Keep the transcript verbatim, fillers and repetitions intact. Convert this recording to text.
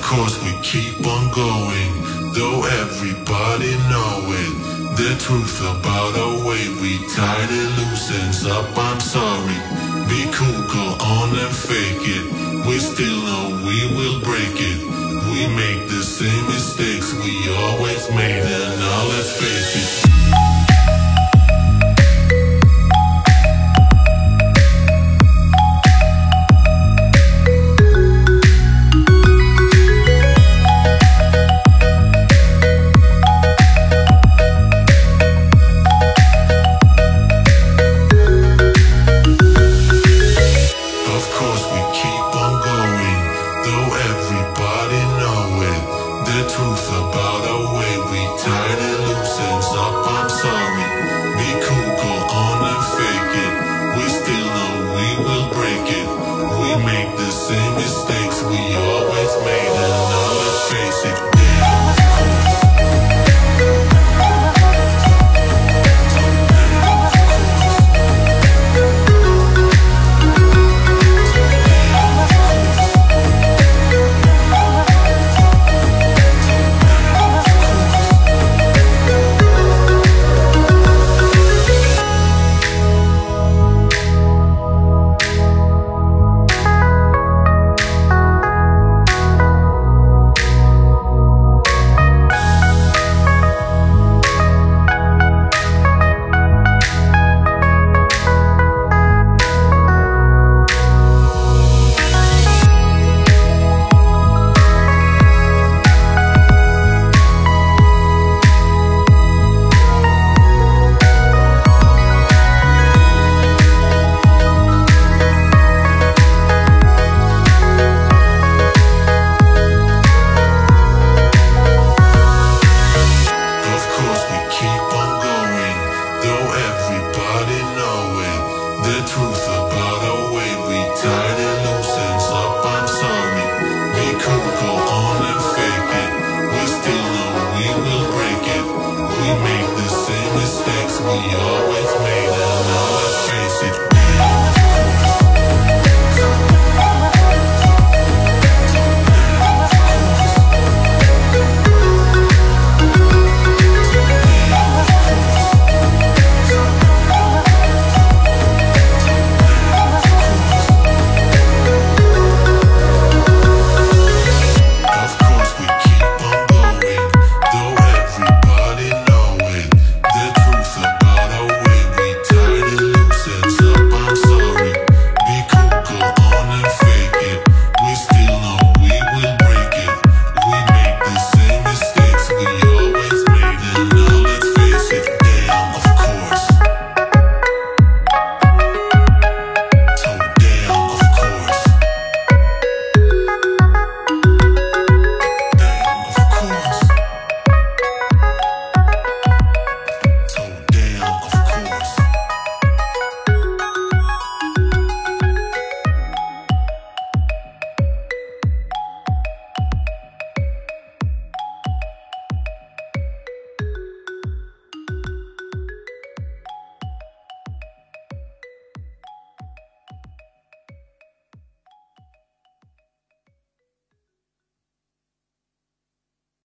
course we keep on going, though everybody know it. The truth about our way, we tied it loose ends up, I'm sorry. Be cool, go on and fake it. We still know we will break it. We make the same mistakes we always made, and now let's face it. Make the same mistakes we always